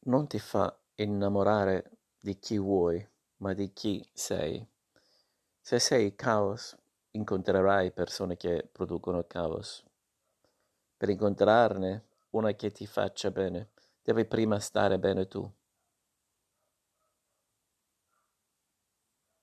non ti fa innamorare di chi vuoi, ma di chi sei. Se sei caos, incontrerai persone che producono caos. Per incontrarne una che ti faccia bene, devi prima stare bene tu.